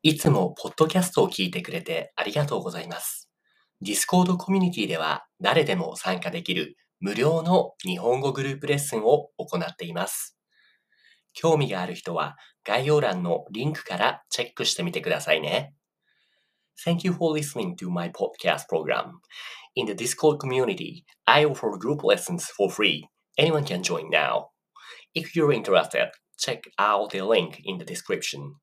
いつもポッドキャストを聞いてくれてありがとうございます。Discord コミュニティでは誰でも参加できる無料の日本語グループレッスンを行っています。興味がある人は概要欄のリンクからチェックしてみてくださいね。Thank you for listening to my podcast program. In the Discord community, I offer group lessons for free. Anyone can join now. If you're interested, check out the link in the description.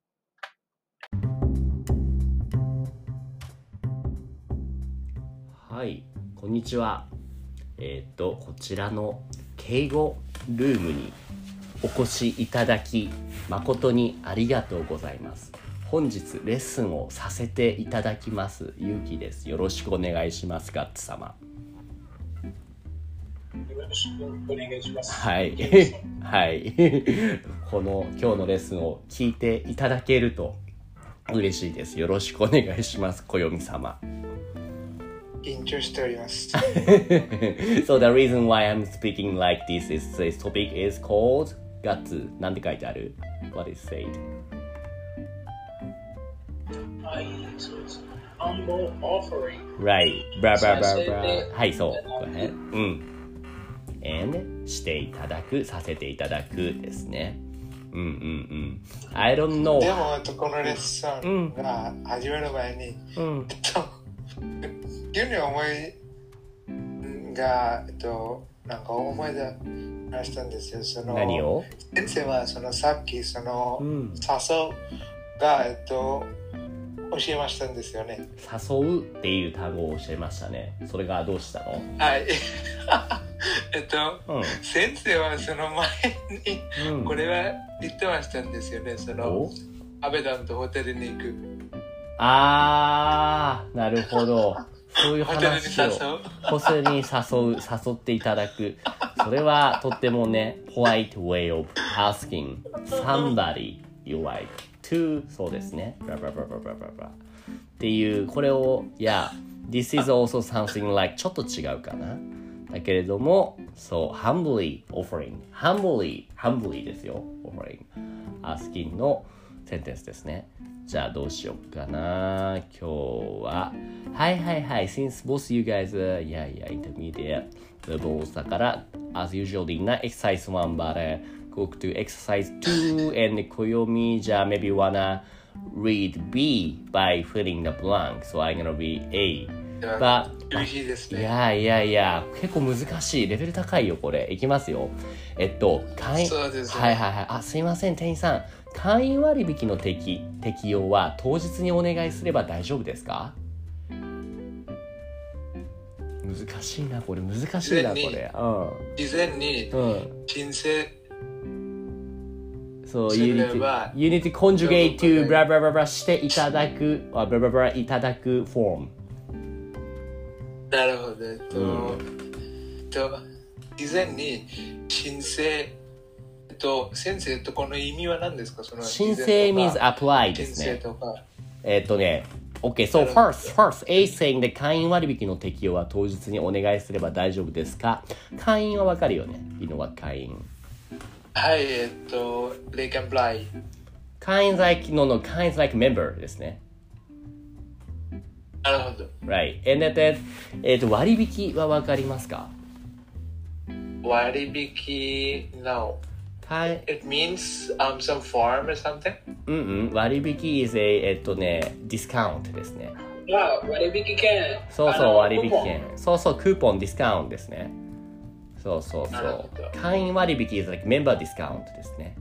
はい、こんにちは。こちらの敬語ルームにお越しいただき誠にありがとうございます。本日レッスンをさせていただきますゆうきです。よろしくお願いします。ガッツ様。 よろしくお願いします。 はいはいこの今日のレッスンを聞いていただけると嬉しいです。よろしくお願いします。暦様。 緊張しております。 So the reason why I'm speaking like this is this topic is called ガッツ。なんて書いてある？ What is said? はい、そうです。Humble offering. Right. Blah blah blah blah. はい、そう。Go ahead. And していただく、させていただくですね。I don't know. でも、このレッスンが始める前に、急に思いが、なんか思い出したんですよ。その何を？ 先生はさっきその、誘うが、教えましたんですよね。 誘うっていう単語を教えましたね。それがどうしたの？ はい。先生はその前に、これは言ってましたんですよね。そのアベダンとホテルに行く。 なるほど。そういう話をホテルに誘っていただく。それはとってもね、polite way of asking somebody you like to そうですね。っていうこれをthis is also something like ちょっと違うかな。だけれども、そう humbly offering humbly ですよ。offering asking のセンテンスですね。じゃあどうしようかな。今日ははいsince both you guys intermediate levels だから as usual な exercise 1 but go to exercise 2 and 暦じゃあ maybe wanna read B by filling the blank so I'm gonna be A but 厳しいですね。 いや結構難しいレベル高いよこれ。いきますよ。 そうですね。 はいすいません店員さん、会員割引の適用は当日にお願いすれば大丈夫ですか？難しいなこれ。 事前に申請そう、you need to conjugate to blah blah blah blah していただくblah blah blah いただくフォーム。 なるほど。事前に申請先生とこの意味は何ですか？その申請 means apply ですね。Okay, so first, A saying で会員割引の適用は当日にお願いすれば大丈夫ですか？会員はわかるよね。You know what 会員？ はい、they can apply。 会員 like member ですね。 なるほど。 Right. And then, 割引はわかりますか？ 割引 No. It means some form or something? 割引 is a discount ですね。 割引券。 そう割引券。そうクーポンディスカウントですね。そう会員割引 is like member discount ですね。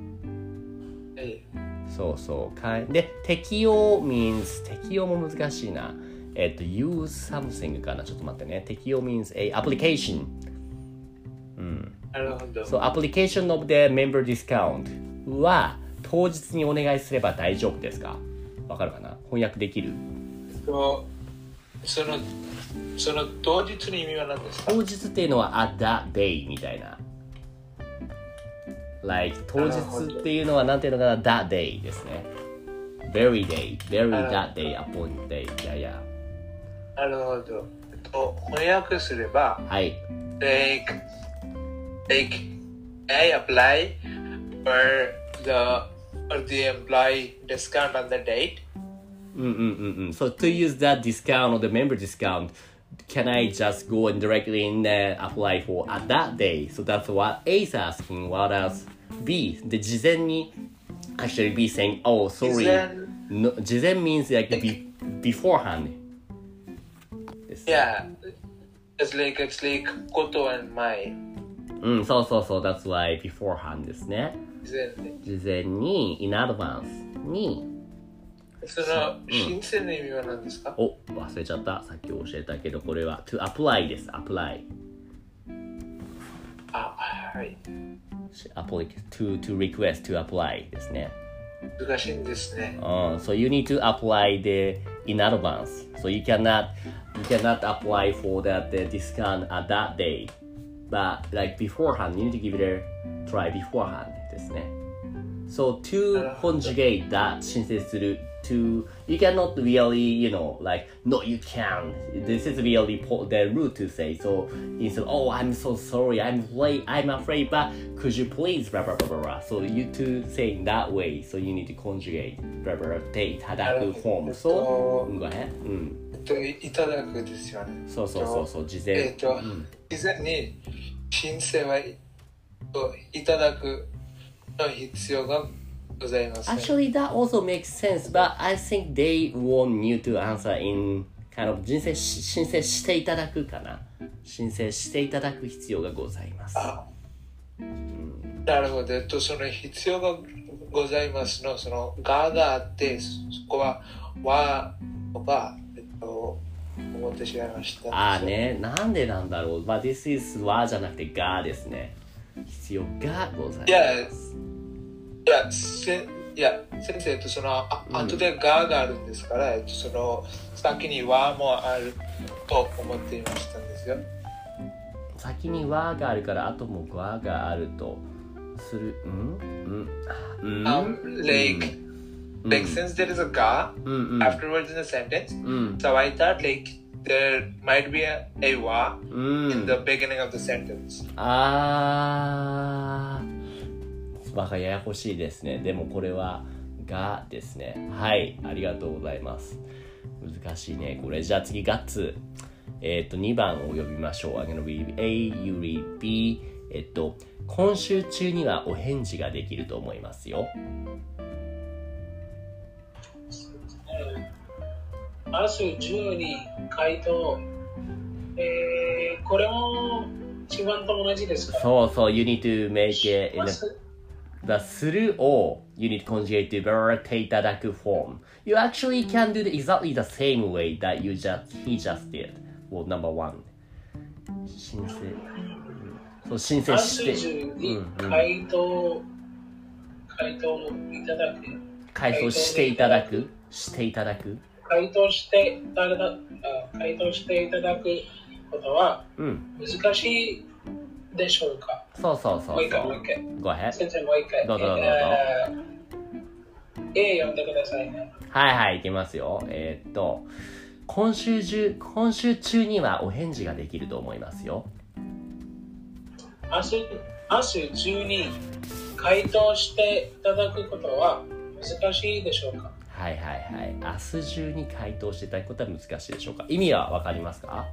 そうで適用 means 適用も難しいな。use something かな。ちょっと待ってね。適用 means a application。 なるほど。 So application of the member discount は当日にお願いすれば大丈夫ですか？わかるかな？翻訳できる？ その当日の意味は何ですか？ 当日っていうのは at that day みたいな。Like 当日っていうのはなんていうのかな？ that day ですね。very that day upon day。 なるほど。翻訳すれば、 はい。 I apply for the or the employee discount on the date. So to use that discount or the member discount, can I just go and directly in apply for at that day? So that's what A is asking. What else? B. で、事前に actually B saying, oh, sorry. の事前 means like beforehand. Yeah. It's like Koto and Mai. そうそうそう。That's why beforehand ですね。事前に in advance にその申請の意味は何ですか？ お、忘れちゃった。さっき教えたけど、これは to apply です。apply。 あ、はい。 to request to apply ですね。 難しいんですね。 So you need to apply the in advance. So you cannot apply for that discount at that day. But like beforehand, you need to give it a try beforehand ですね。So to conjugate that 申請する to you cannot really like no you can't. This is really the route to say. So instead oh I'm so sorry I'm afraid but could you please blah blah blah blah blah. So you to say that way. So you need to conjugate blah blah blah でいただく form. So go ahead. いただくですよね。 そう事前。 事前に申請はいただくの必要がございます。 Actually, that also makes sense, but I think they want you to answer in kind of 申請していただくかな。申請していただく必要がございます。 なるほど。その必要がございますのそのがあって、そこははが思ってしまいました。 ね、なんでなんだろう。But this is はじゃなくてがですね。必要がございます。 いや先生とその後でがあるんですから、その先にはもあると思っていましたんですよ。 先にはがあるから後もががあるとする。 Like since there is a ga afterwards in the sentence, so I thought like there might be a wa in the beginning of the sentence. バカややこしいですね。でもこれはがですね。はい、ありがとうございます。難しいねこれ。じゃあ次ガッツ。2番を呼びましょう。I'm gonna read A, you read B。今週中にはお返事ができると思いますよ。 明日中に回答。これも一番と同じですか？ そう、you need to make it in the するを you need to conjugate to verb ていただく form. You actually can do exactly the same way that he just did. Well, number one. 申請して。 回答のいただく。 回答していただく。 回答していただくことは難しいでしょうか？ そう。 もう一回。 Go ahead. 先生もう一回。 どうぞ。 A 読んでくださいね。 はい、いきますよ。今週中にはお返事ができると思いますよ。 明日中に回答していただくことは難しいでしょうか？ はい。明日中に回答していただくことは難しいでしょうか？意味はわかりますか？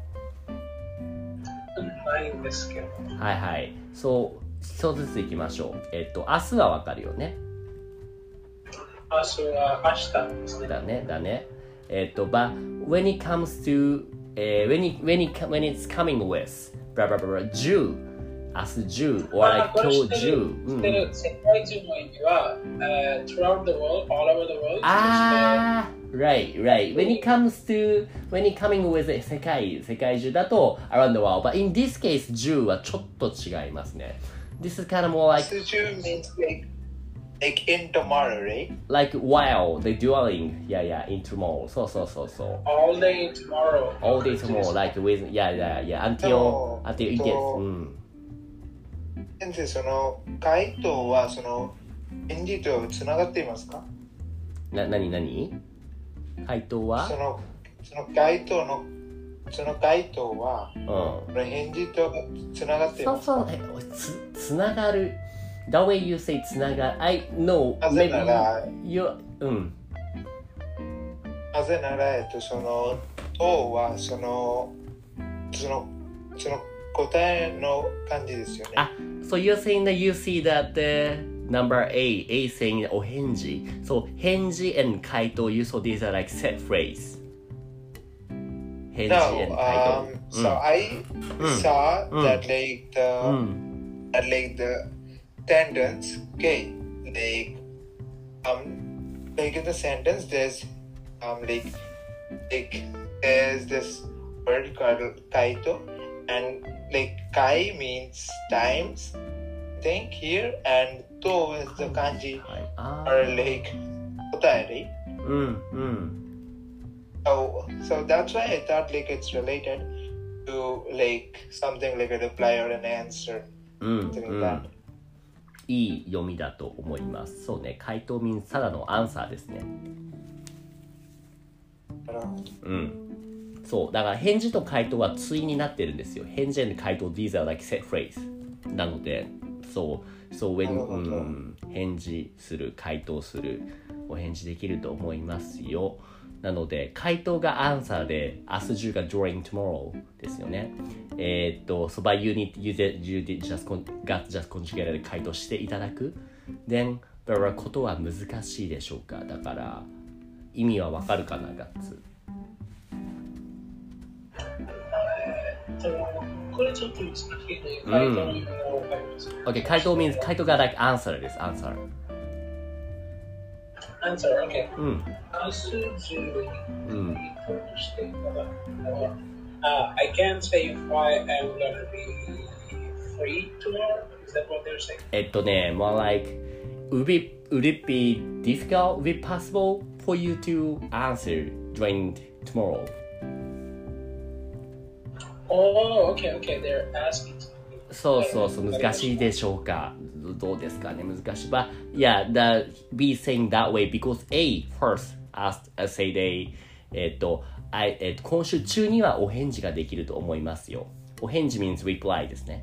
ないんですけど。 はい。そう一つずついきましょう。明日はわかるよね。 明日は明日ですね。 だね。But when it comes to when it's coming with blah blah blah 10明日10 or like 今日10。 世界中の意味は、throughout the world, all over the world. Right. When it coming with 世界中だと around the world. But in this case 10はちょっと違いますね。This is kind of more like 10 means like in tomorrow, right? Like while the dueling, in tomorrow. そう。 All day tomorrow, like with, until it gets, 先生、その回答はその返事とつながっていますか？ 何回答はその回答は、返事とつながっていますか？ つながる That way you say つなが、I know, なぜなら、 you, なぜなら、その、とは、その答えの感じですよね。 So you're saying that you see that the number A saying お返事。So 返事 and 回答 you saw these are like set phrase. 返事 and 回答。 So I saw that like the sentence, okay, like in the sentence there's there's this word called kaito, and like kai means times, I think here, and to is the kanji or like kotae, right? So that's why I thought like it's related to like something like a reply or an answer, something like that. いい読みだと思います。そうね、回答 means ただのアンサーですね。そう、だから返事と回答は対になってるんですよ。返事と回答 these are like set phrase なので、そう when、返事する、回答する、お返事できると思いますよ。なので回答がアンサーで明日中が during tomorrow ですよね。so by you need you just conjugated で回答していただく。then だからことは難しいでしょうか。だから意味はわかるかな、ガッツ。 これちょっと難しいね。回答の意味がわかります。 Okay, 回答 means 回答が like answer です。answer answer, okay. 明日中にしていただく。I can't say if I am gonna be free tomorrow. Is that what they're saying? More like would it be difficult, would it be possible for you to answer during tomorrow? Oh, okay. They're asking. そう難しいでしょうか。どうですかね、難しい。But yeah, be saying that way because A first asked, say they 今週中にはお返事ができると思いますよ。お返事 means reply ですね。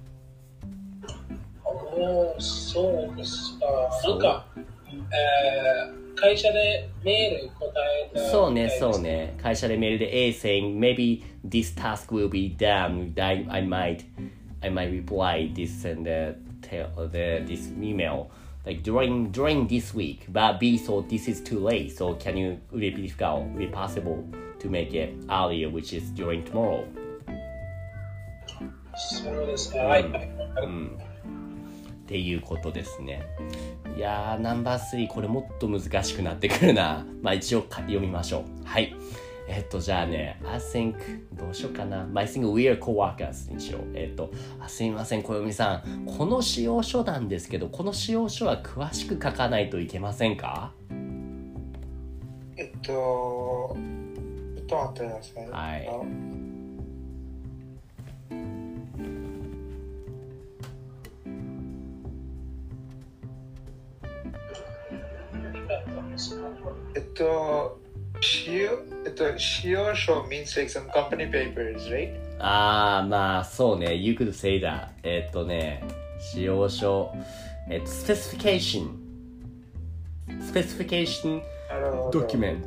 そうですか。なんか、会社でメール答えた。 そうね。会社でメールで A saying maybe this task will be done. I might reply this and this email like during this week. But B thought this is too late. So would it be difficult? Would it be possible to make it earlier, which is during tomorrow? そうですか。 っていうことですね。いやー、ナンバー3これもっと難しくなってくるな。まあ一応読みましょう。はい。じゃあね、I think どうしようかな。I think we are co-workers にしよう。すみません、小読さん。この使用書なんですけど、この使用書は詳しく書かないといけませんか？ ちょっと待ってください。 はい。 使用書 means like some company papers, right? まあそうね。You could say that. 使用書、specification document.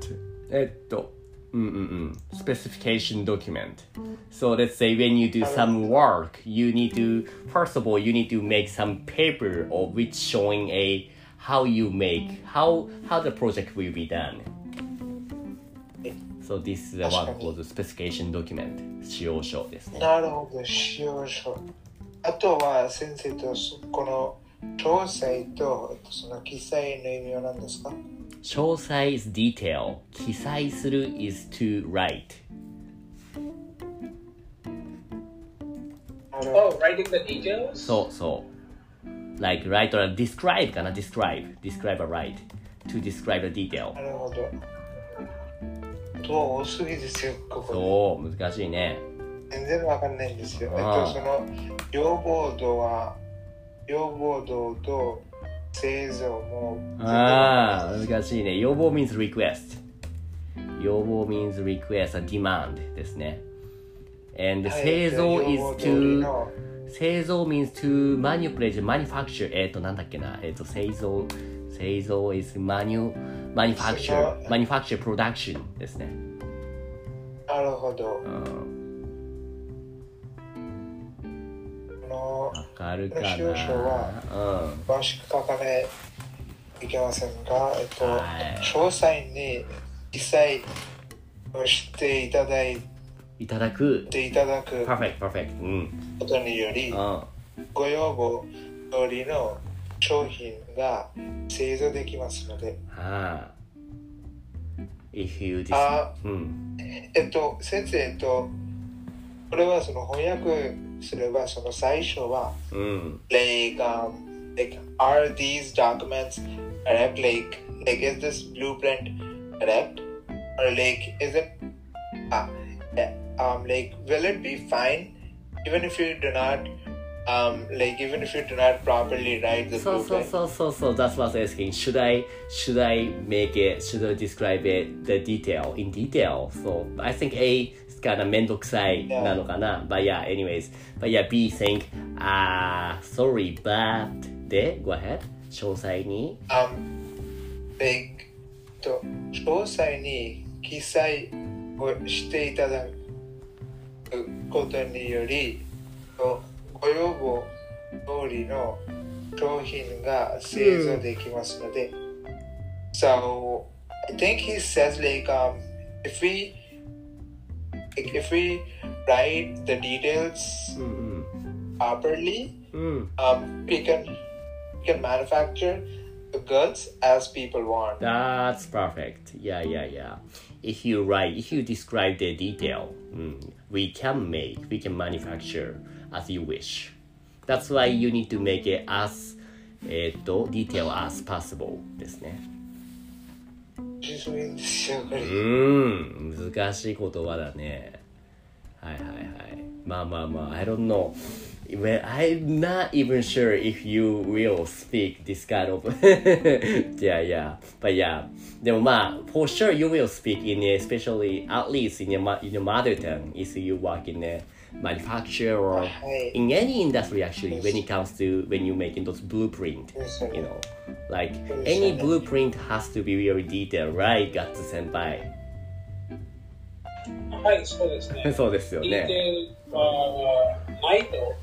Specification document. So let's say when you do some work, you need to first of all you need to make some paper of which showing how the project will be done. So this is what was the specification document. 使用書ですね。 なるほど、使用書。あとは先生とこの詳細とその記載の意味は何ですか？ 詳細 is detail. 記載する is to write. Oh, writing the details? そう。Like write or describe かな describe or write. To describe the detail. なるほど。多すぎですよ、ここ。 そう、難しいね。 全然わかんないんですよ。その要望度と製造も難しいね。要望 means request. 要望 means request and demand ですね。 And はい製造 is 用語通り to の製造 means to manipulate, manufacture なんだっけな製造 is manufacture production ですね。 なるほど。 わかるかな。 この使用書は詳しく書かないといけませんが、 はい詳細に記載をしていただく perfect ことにより、ご要望通りの商品が製造できますので。 if you 先生、これはその翻訳すれば、その最初は、like, are these documents correct? Like, is this blueprint correct? Or like, is it, like, will it be fine even if you do not, even if you do not properly write the blueprint? So that's what I was asking. Should I describe it the detail in detail? So I think A is kind of めんどくさいなのかな。But yeah, anyways. But yeah, B think, sorry, but で、go ahead. 詳細に。 詳細に記載をしていただくことにより、ご要望通りの商品が製造できますので。So, I think he says like, if we write the details properly, we can manufacture the goods as people want. That's perfect. Yeah. If you describe the detail, we can manufacture as you wish. That's why you need to make it as detail as possible ですね。難しい言葉だね。はい。まあ、I don't know. Well, I'm not even sure if you will speak this kind of yeah. But yeah. でもまあ for sure you will speak in especially at least in your mother tongue if you work in a manufacture or in any industry actually when it comes to when you're making those blueprint, you know, like any blueprint has to be very detailed, right? Guts 先輩。 はい、そうですね。 そうですよね。 ディテールはないと。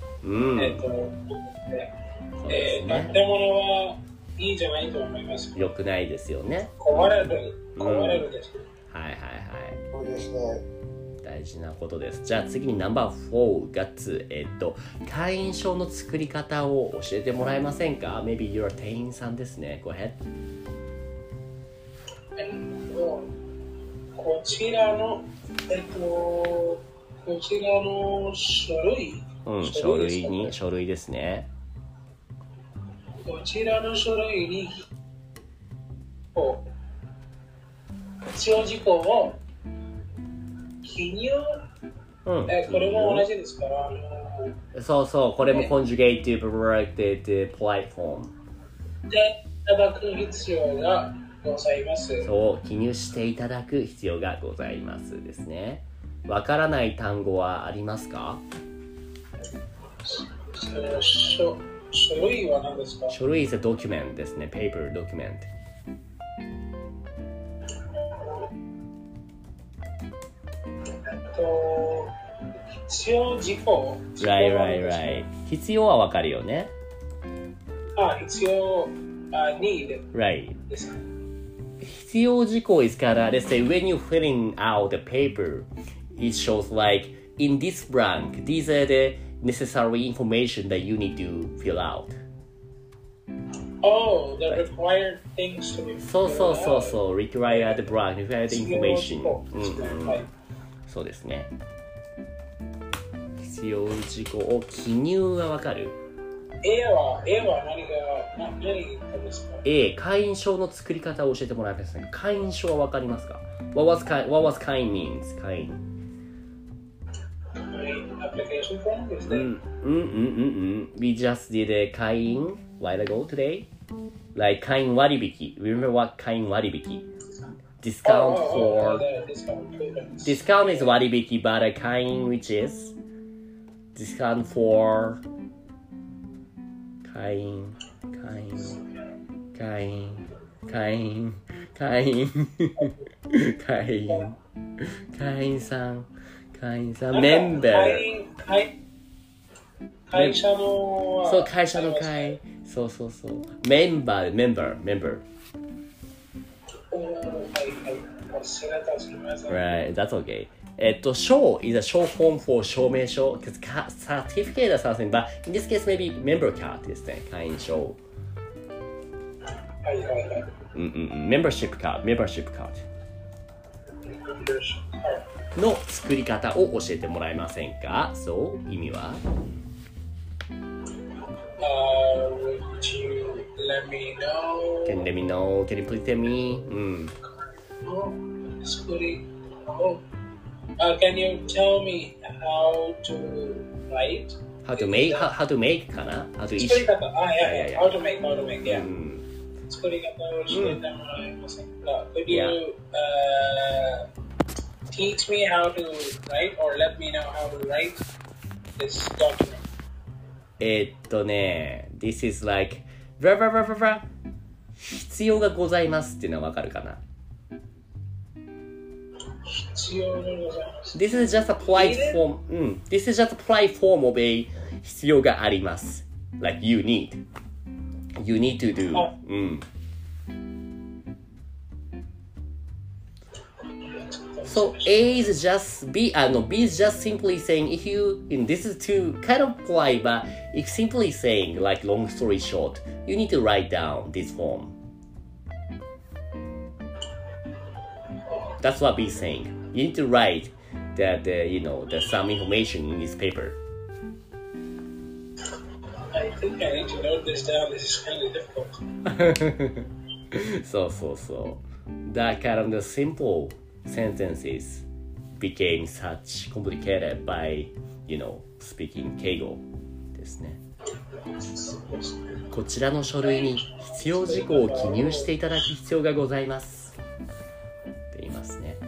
建物はいいじゃないと思います。 良くないですよね。 壊れるです。 はい。 そうですね。 大事なことです。じゃあ次にナンバー4ガッツ、会員証の作り方を教えてもらえませんか？ Maybe you're 店員さんですね。Go ahead。 こちらの書類。 書類ですね。 こちらの書類に必要事項を記入、これも同じですから。 そう、これも conjugative polite form でいただく必要がございます。 そう、記入していただく必要がございますですね。わからない単語はありますか？ 書類は何ですか？ 書類 is a document ですね。paper document。 必要事項。 Right。必要はわかるよね。 必要、need。 Right。必要事項 is から、let's say when you're filling out the paper, it shows like in this blank, these are the necessary information that you need to fill out. Oh, the required things to be filled out. そう、required blank, required information. そうですね。必要事項を記入はわかる？ A は何ですか？ A、会員証の作り方を教えてもらえますか？会員証はわかりますか？ What was 会員 means? 会員。 Application form ですね。 We just did a 会員 while ago today. Like 会員割引。Remember what 会員割引 discount for discount is 割引 but a 会員 which is discount for 会員さんメンバー会社のそう会社の会そうメンバーRight, that's okay. Show is a short form for 証明書 because certificate or something, but in this case maybe member card ですね、会員証。membership card の作り方を教えてもらえませんか？そう意味は ？Would you let me know? Can you please tell me? Can you tell me how to write? How to make かな？ How to issue? 作り方、how to make, yeah. 作り方を教えてもらえませんか？Could you teach me how to write or let me know how to write this document? This is like 必要がございますっていうのはわかるかな？ 必要がございます。 This is just a polite form. This is just a polite form of a 必要があります。Like you need to do. So A is just B is just simply saying if you this is too kind of polite, but if simply saying like long story short, you need to write down this form. That's what B is saying. You need to write that there's some information in this paper. I think I need to note this down. This is kind of difficult. So that kind of the simple sentences became such complicated by speaking 敬語ですね。こちらの書類に必要事項を記入していただく必要がございますって言いますね。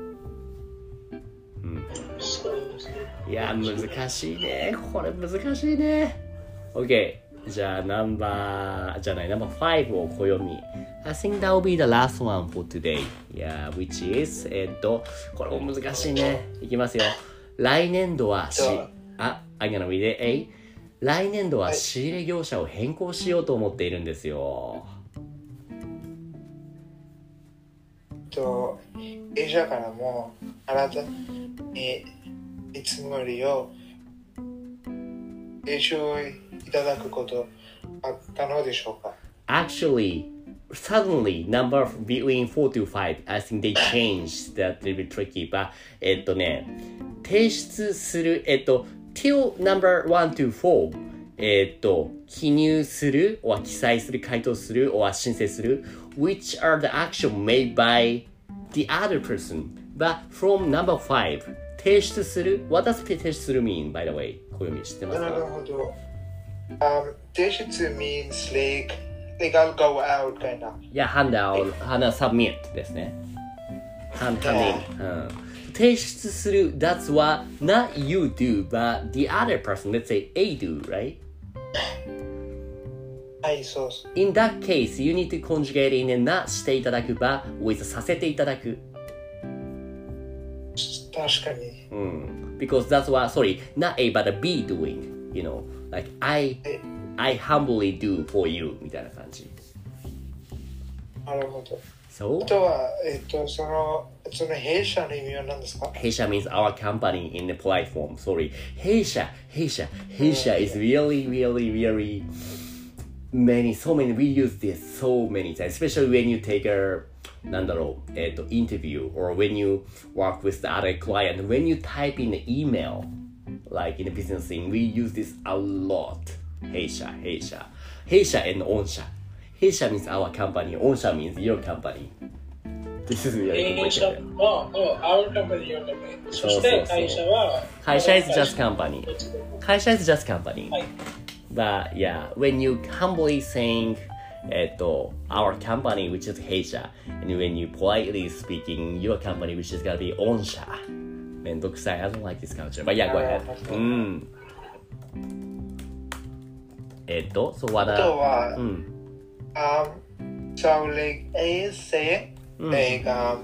いや難しいね、これ難しいね。 OK、 じゃあナンバー5を小読み。I think that will be the last one for today. Yeah, which is これも難しいね。いきますよ。来年度はI'm gonna read it. 来年度は仕入れ業者を変更しようと思っているんですよ。 弊社からも新たに見積もりを提唱いただくことあったのでしょうか？ Actually, suddenly number between 4 to 5, I think they changed that a little bit tricky, but 提出するtill number 1 to 4記入する or 記載する回答する or 申請する which are the action made by the other person, but from number 5提出する what does 提出する mean by the way? 小読み知ってますか？ なるほど。提出 means like I'll go out kind of. Yeah, hand out, submit ですね。hand in. 提出する that's what not you do, but the other person, let's say A do, right? はい、そうそう。 In that case, you need to conjugate in and not していただく but with させていただく。 確かに。 Because that's what, sorry, not A but a B doing, like I humbly do for you みたいな感じ。 なるほど。 So? あとは、その弊社の意味は何ですか？ 弊社 means our company in the polite form. Sorry. 弊社 is really many, so many, we use this so many times, especially when you take a interview or when you work with the other client, when you type in the email, like in the business thing, we use this a lot. 弊社 and 御社。弊社 means our company, 御社 means your company. This is really complicated. Our company, your company. そして会社は会社 is just company. 会社 is just company. But yeah, when you humbly saying our company, which is 弊社 and when you politely speaking your company, which is gonna be 御社めんどくさい I don't like this culture but yeah go ahead そうあとは、so like I say like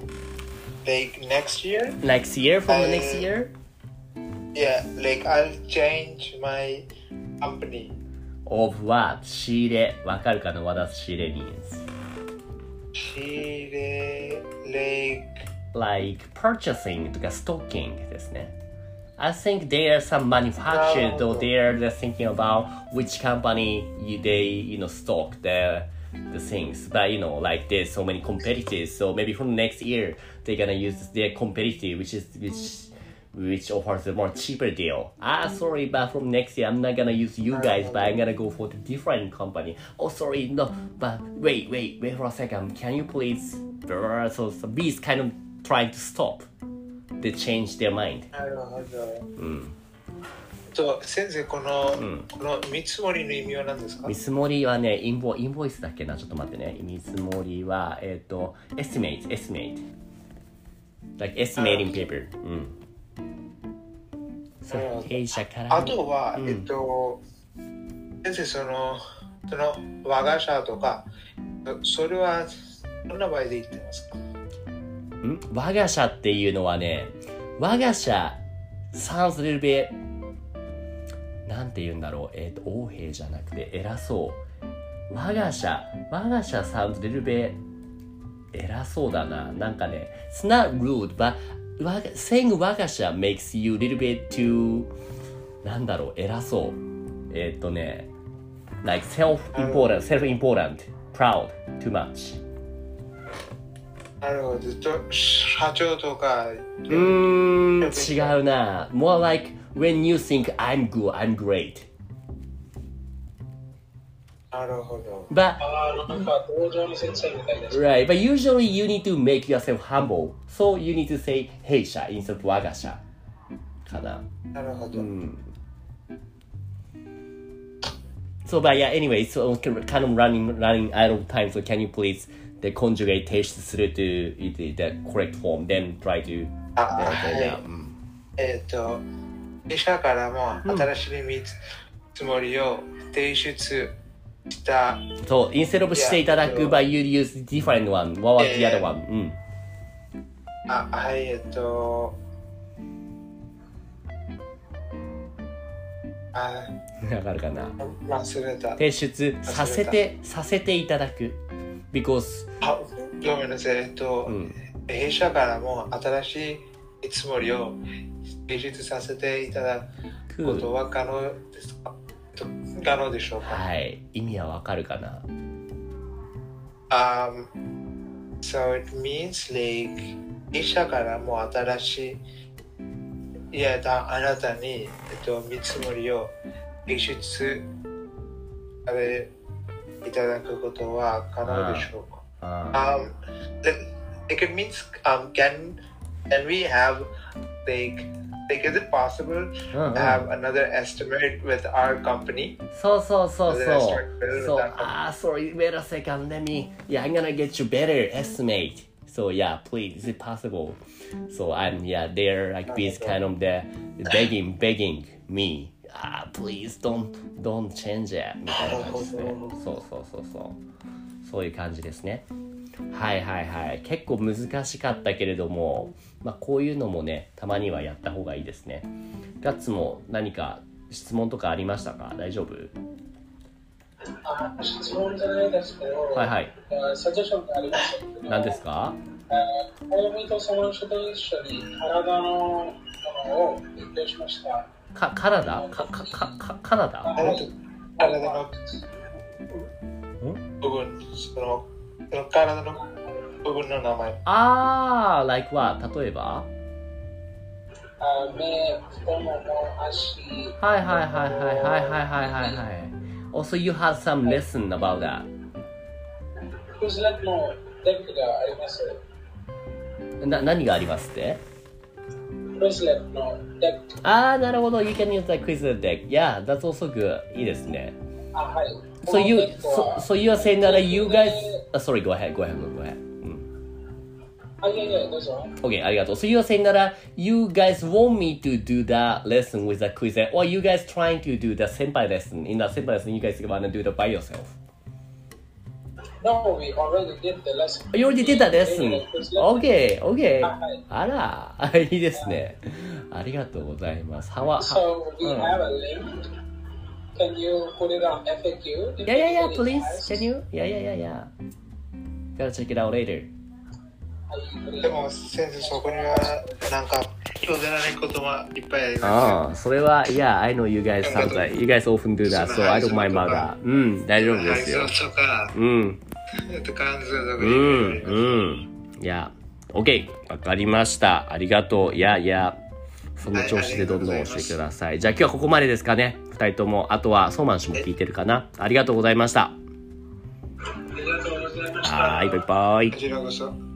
next year from the next year yeah like I'll change my company of what 仕入れわかるかな what does 仕入れ means 仕入れ like purchasing とか stocking ですねI think there are some manufacturers or they're thinking about which company they stock the things but like there's so many competitors so maybe from next year they're gonna use their competitor which offers a more cheaper deal sorry but from next year I'm not gonna use you guys but I'm gonna go for the different company oh sorry no but wait for a second can you please so B's kind of trying to stop they change their mind なるほど、先生この見積もりの意味は何ですか？ 見積もりはねインボイスだっけなちょっと待ってね見積もりはestimate like estimating paper そう弊社からあとは、先生その我が社とかそれはどんな場合で言ってますか？ 我が社っていうのはね我が社 sounds a little bit なんて言うんだろう横兵じゃなくて偉そう我が社 sounds a little bit 偉そうだななんかね it's not rude but saying 我が社 makes you a little bit too なんだろう偉そうね like self-important proud too much なるほど社長とか違うな more like when you think I'm good I'm great なるほど but なんか道場の先生みたいです right but usually you need to make yourself humble so you need to say 弊社 instead of 我が社かななるほど、 So but yeah anyway so kind of running out of time so can you please the conjugate 提出する to the correct form then try to 弊社からも新しい見積もりを提出したそう instead of していただく but you use different one what was the other one はいわかるかな忘れた提出させていただく because ごめんなさい弊社からも新しい見積もりを提出させていただくことは可能ですか？可能でしょうか？ はい意味はわかるかな So it means like 弊社からも新しいあなたに、見積もりを提出されいただくことは可能でしょうか？Like it means can we have like is it possible to have another estimate with our company? そう sorry wait a second let me I'm gonna get you better estimate so yeah please is it possible so I'm they're like this kind of the begging me please don't change it みたいな感じですねそういう感じですねはい結構難しかったけれどもこういうのもねたまにはやった方がいいですねガッツも何か質問とかありましたか大丈夫質問じゃないですけどサジェッションがあります何ですか大見とその人と一緒に体のものを勉強しましたカナダ体の部分その体の部分の名前 like what 例えば目、太もも、足 Also you had some lesson about that クイズレットのデックがあります何がありますってクイズレットのデックなるほど You can use the quiz deck Yeah, that's also good いいですねはい So you are saying that you guys sorry, go ahead. Yeah, that's all. Okay, ありがとう。So you are saying that you guys want me to do the lesson with the quiz, or you guys trying to do the senpai lesson? In the senpai lesson, you guys wanna do it by yourself? No, we already did the lesson. You already did the lesson. Okay. はい。 あら、いいですね。ありがとうございます。 So we have a link. Can you put it on FAQ? Yeah, please. Can you? Yeah. Gotta check it out later. でも先生そこにはなんか今日出られることはいっぱいありますよ。 ああ、それは、Yeah, I know you guys sometimes. You guys often do that, so I don't mind about that. うん、大丈夫ですよ。 配送とか、 うん。 関数とかいや、OK。わかりました。ありがとう。いや、その調子でどんどん押してください。じゃあ今日はここまでですかね。二人とも。あとは、ソーマン氏も聞いてるかな。ありがとうございました。 ありがとうございました。 はい、バイバイ。 こちらこそ。